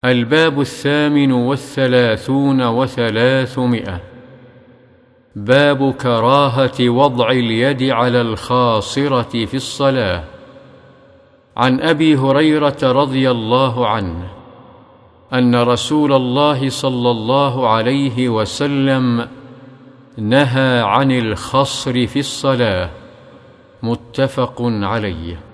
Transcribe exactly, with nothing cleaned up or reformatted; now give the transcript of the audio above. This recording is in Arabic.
الباب الثامن والثلاثون وثلاثمائة. باب كراهة وضع اليد على الخاصرة في الصلاة. عن أبي هريرة رضي الله عنه أن رسول الله صلى الله عليه وسلم نهى عن الخصر في الصلاة. متفق عليه.